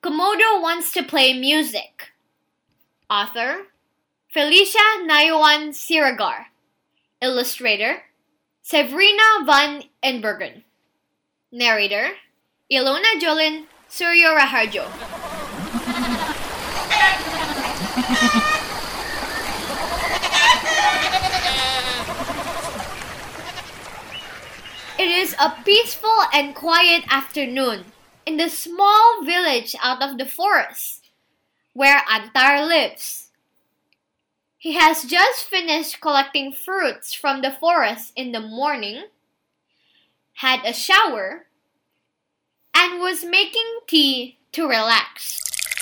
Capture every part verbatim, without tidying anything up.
Komodo wants to play music. Author, Felicia Nayuan Siragar. Illustrator, Severina van Enbergen. Narrator, Ilona Jolin Suryoraharjo. It is a peaceful and quiet afternoon in the small village out of the forest where Antar lives. He has just finished collecting fruits from the forest in the morning, had a shower, and was making tea to relax.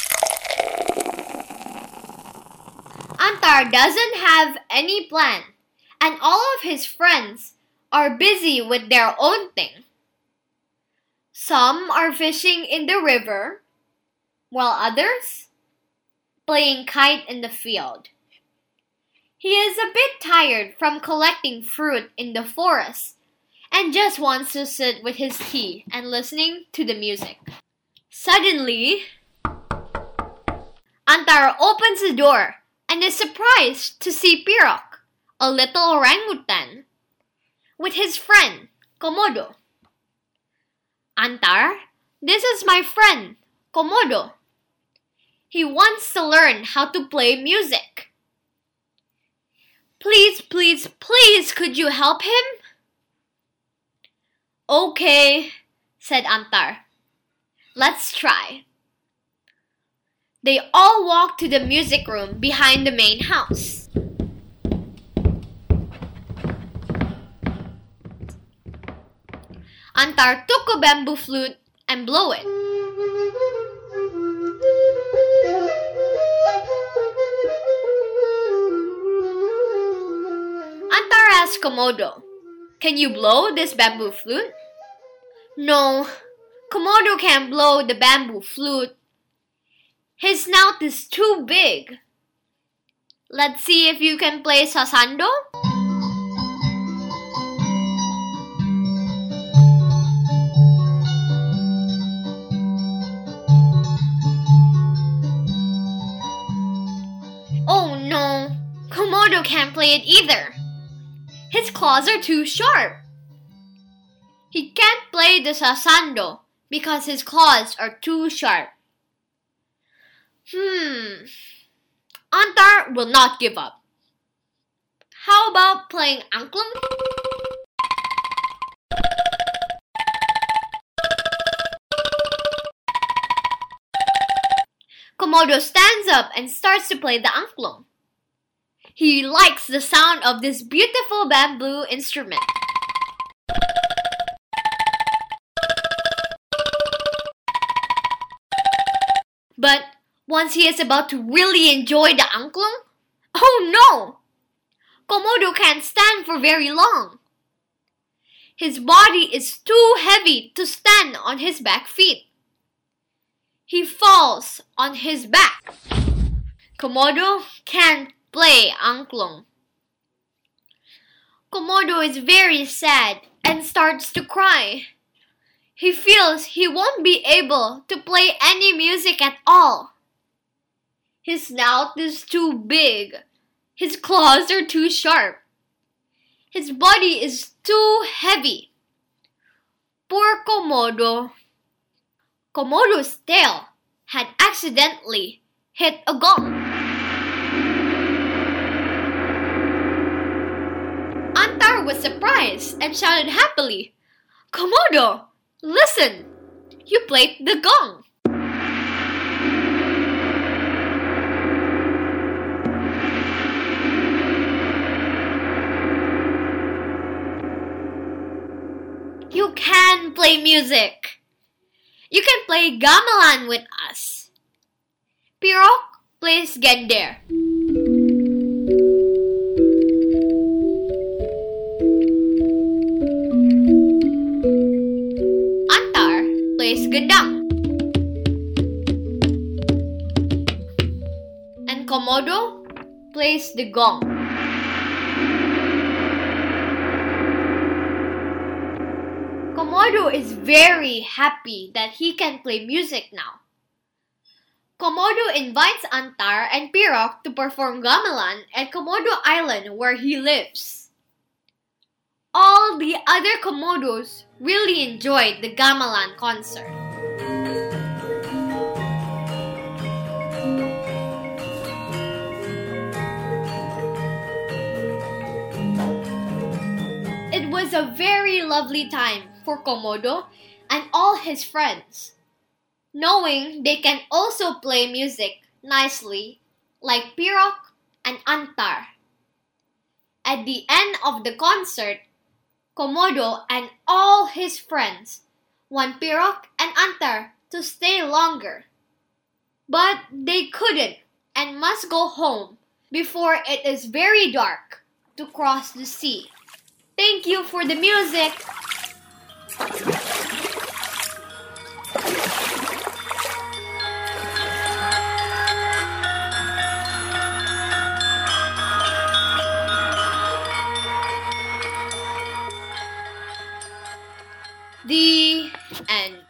Antar doesn't have any plan, and all of his friends are busy with their own thing. Some are fishing in the river, while others playing kite in the field. He is a bit tired from collecting fruit in the forest and just wants to sit with his tea and listening to the music. Suddenly, Antar opens the door and is surprised to see Pirok, a little orangutan, with his friend, Komodo. Antar, this is my friend, Komodo. He wants to learn how to play music. Please, please, please, could you help him? Okay, said Antar. Let's try. They all walked to the music room behind the main house. Antar took a bamboo flute and blew it. Antar asked Komodo, "Can you blow this bamboo flute?" No, Komodo can't blow the bamboo flute. His snout is too big. Let's see if you can play sasando. Oh no, Komodo can't play it either. His claws are too sharp. He can't play the sasando because his claws are too sharp. Hmm, Antar will not give up. How about playing angklung? Komodo stands up and starts to play the angklung. He likes the sound of this beautiful bamboo instrument. But once he is about to really enjoy the angklung, oh no! Komodo can't stand for very long. His body is too heavy to stand on his back feet. He falls on his back. Komodo can't play angklung. Komodo is very sad and starts to cry. He feels he won't be able to play any music at all. His snout is too big. His claws are too sharp. His body is too heavy. Poor Komodo. Komodo's tail had accidentally hit a gong. Antar was surprised and shouted happily, "Komodo, listen! You played the gong!" You can play music. You can play gamelan with us. Pirok plays gender. Antar plays gendang. And Komodo plays the gong. Komodo is very happy that he can play music now. Komodo invites Antar and Pirok to perform gamelan at Komodo Island where he lives. All the other Komodos really enjoyed the gamelan concert. It was a very lovely time for Komodo and all his friends, knowing they can also play music nicely like Pirok and Antar. At the end of the concert, Komodo and all his friends want Pirok and Antar to stay longer. But they couldn't and must go home before it is very dark to cross the sea. Thank you for the music! The end.